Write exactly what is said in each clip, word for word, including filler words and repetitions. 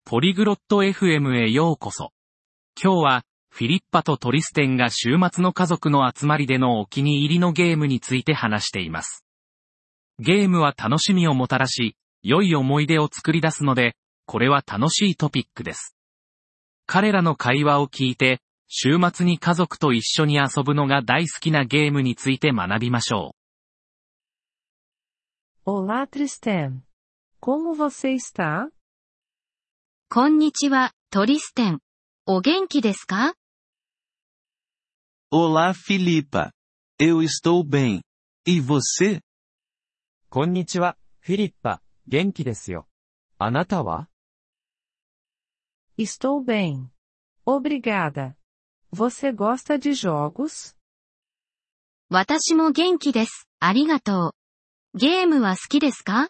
ポリグロット エフエム へようこそ。今日は、フィリッパとトリステンが週末の家族の集まりでのお気に入りのゲームについて話しています。ゲームは楽しみをもたらし、良い思い出を作り出すので、これは楽しいトピックです。彼らの会話を聞いて、週末に家族と一緒に遊ぶのが大好きなゲームについて学びましょう。Olá, Tristan. Como você está? こんにちは、トリステン。お元気ですか？ Olá, Filipa. Eu estou bem. E você? こんにちは、フィリッパ。元気ですよ。あなたは？ Estou bem. Obrigada. Você gosta de jogos? 私も元気です。ありがとう。ゲームは好きですか？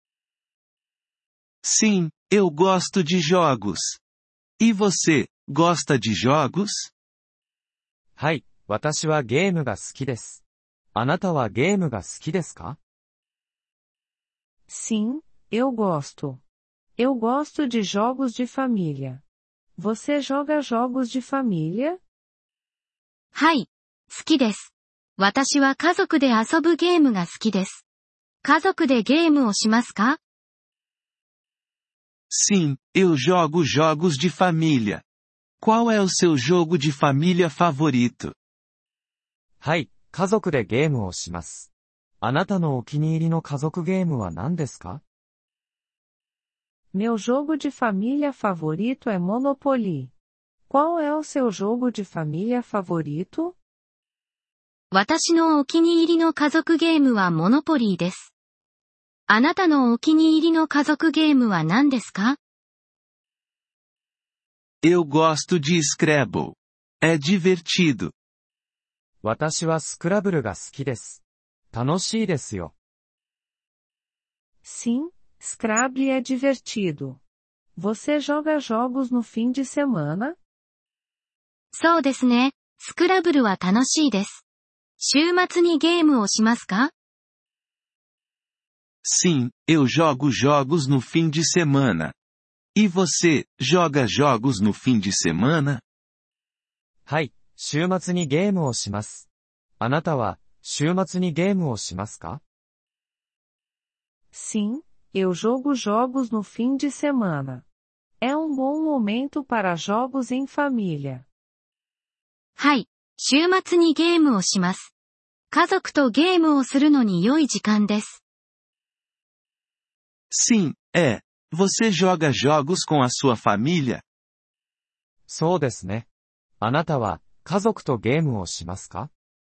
Sim, eu gosto de jogos. E você, gosta de jogos? はい、私はゲームが好きです。あなたはゲームが好きですか？ Sim, eu gosto. Eu gosto de jogos de família. Você joga jogos de família? はい、好きです。私は家族で遊ぶゲームが好きです。家族でゲームをしますか？ Sim, eu jogo jogos de família. Qual é o seu jogo de família favorito? はい、家族でゲームをします。あなたのお気に入りの家族ゲームは何ですか？ Meu jogo de família favorito é Monopoly. Qual é o seu jogo de família favorito? 私のお気に入りの家族ゲームはモノポリーです。あなたのお気に入りの家族ゲームは何ですか？ Eu gosto de Scrabble. É divertido. 私はスクラブルが好きです。楽しいですよ。 Sim, Scrabble é divertido. Você joga jogos no fim de semana? そうですね。スクラブルは楽しいです。週末にゲームをしますか？ Sim, eu jogo jogos no fim de semana. E você, joga jogos no fim de semana? はい、週末にゲームをします。あなたは、週末にゲームをしますか？ Sim, eu jogo jogos no fim de semana. É um bom momento para jogos em família. はい、週末にゲームをします。家族とゲームをするのに良い時間です。 Sim, é. Você joga jogos com a sua família? そうですね。あなたは、家族とゲームをしますか？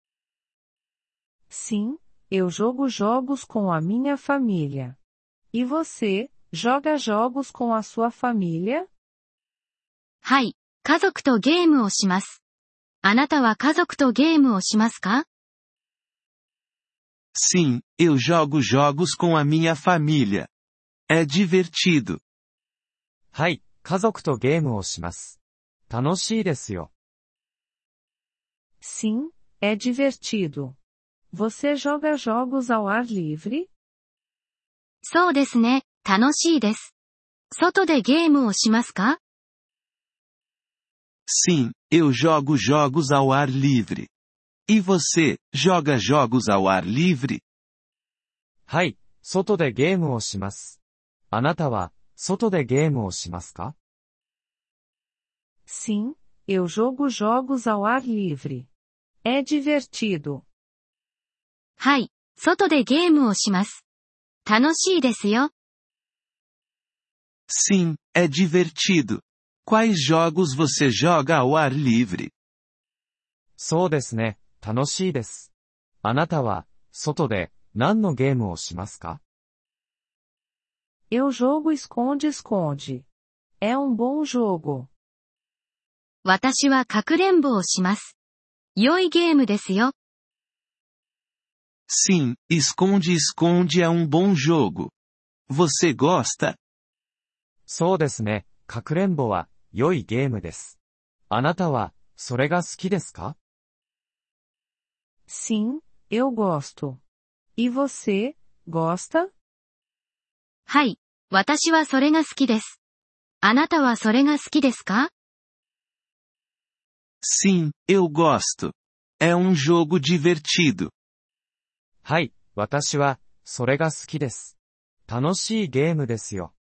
Sim, eu jogo jogos com a minha família. E você, joga jogos com a sua família? はい、家族とゲームをします。あなたは家族とゲームをしますか？ Sim, eu jogo jogos com a minha família. É divertido. はい、家族とゲームをします。楽しいですよ。 Sim, é divertido. Você joga jogos ao ar livre? そうですね、楽しいです。外でゲームをしますか？ Sim, eu jogo jogos ao ar livre. E você, joga jogos ao ar livre? はい、外でゲームをします。あなたは、外でゲームをしますか？ Sim, eu jogo jogos ao ar livre. É divertido. はい、外でゲームをします。楽しいですよ。 Sim, é divertido. Quais jogos você joga ao ar livre? そうですね、楽しいです。あなたは、外で、何のゲームをしますか？ Eu jogo esconde-esconde. É um bom jogo. 私はかくれんぼをします。良いゲームですよ。 Sim, esconde-esconde é um bom jogo. Você gosta? そうですね、かくれんぼは、良いゲームです。あなたは、それが好きですか？ Sim, eu gosto. E você, gosta? はい、私はそれが好きです。 あなたはそれが好きですか？ Sim, eu gosto. É um jogo divertido. はい、私は、それが好きです。楽しいゲームですよ。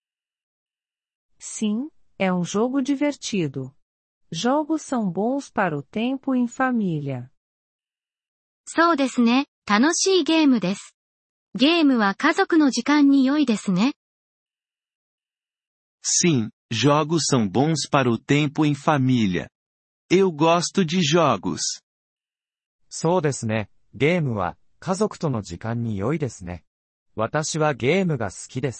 Sim, é um jogo divertido. Jogos são bons para o tempo em família. そうですね、楽しいゲームです。ゲームは家族の時間に良いですね。 Sim, jogos são bons para o tempo em família. Eu gosto de jogos. そうですね、ゲームは、家族との時間に良いですね。私はゲームが好きです。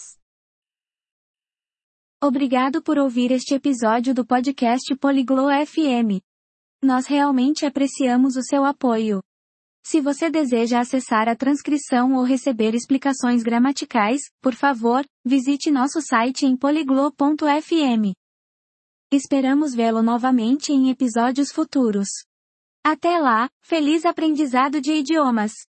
Obrigado por ouvir este episódio do podcast Poliglo F M. Nós realmente apreciamos o seu apoio. Se você deseja acessar a transcrição ou receber explicações gramaticais, por favor, visite nosso site em poliglo ponto f m. Esperamos vê-lo novamente em episódios futuros. Até lá, feliz aprendizado de idiomas!